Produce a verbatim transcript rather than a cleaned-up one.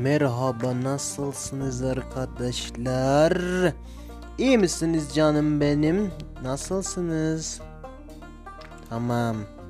Merhaba, nasılsınız arkadaşlar? İyi misiniz canım benim? Nasılsınız? Tamam.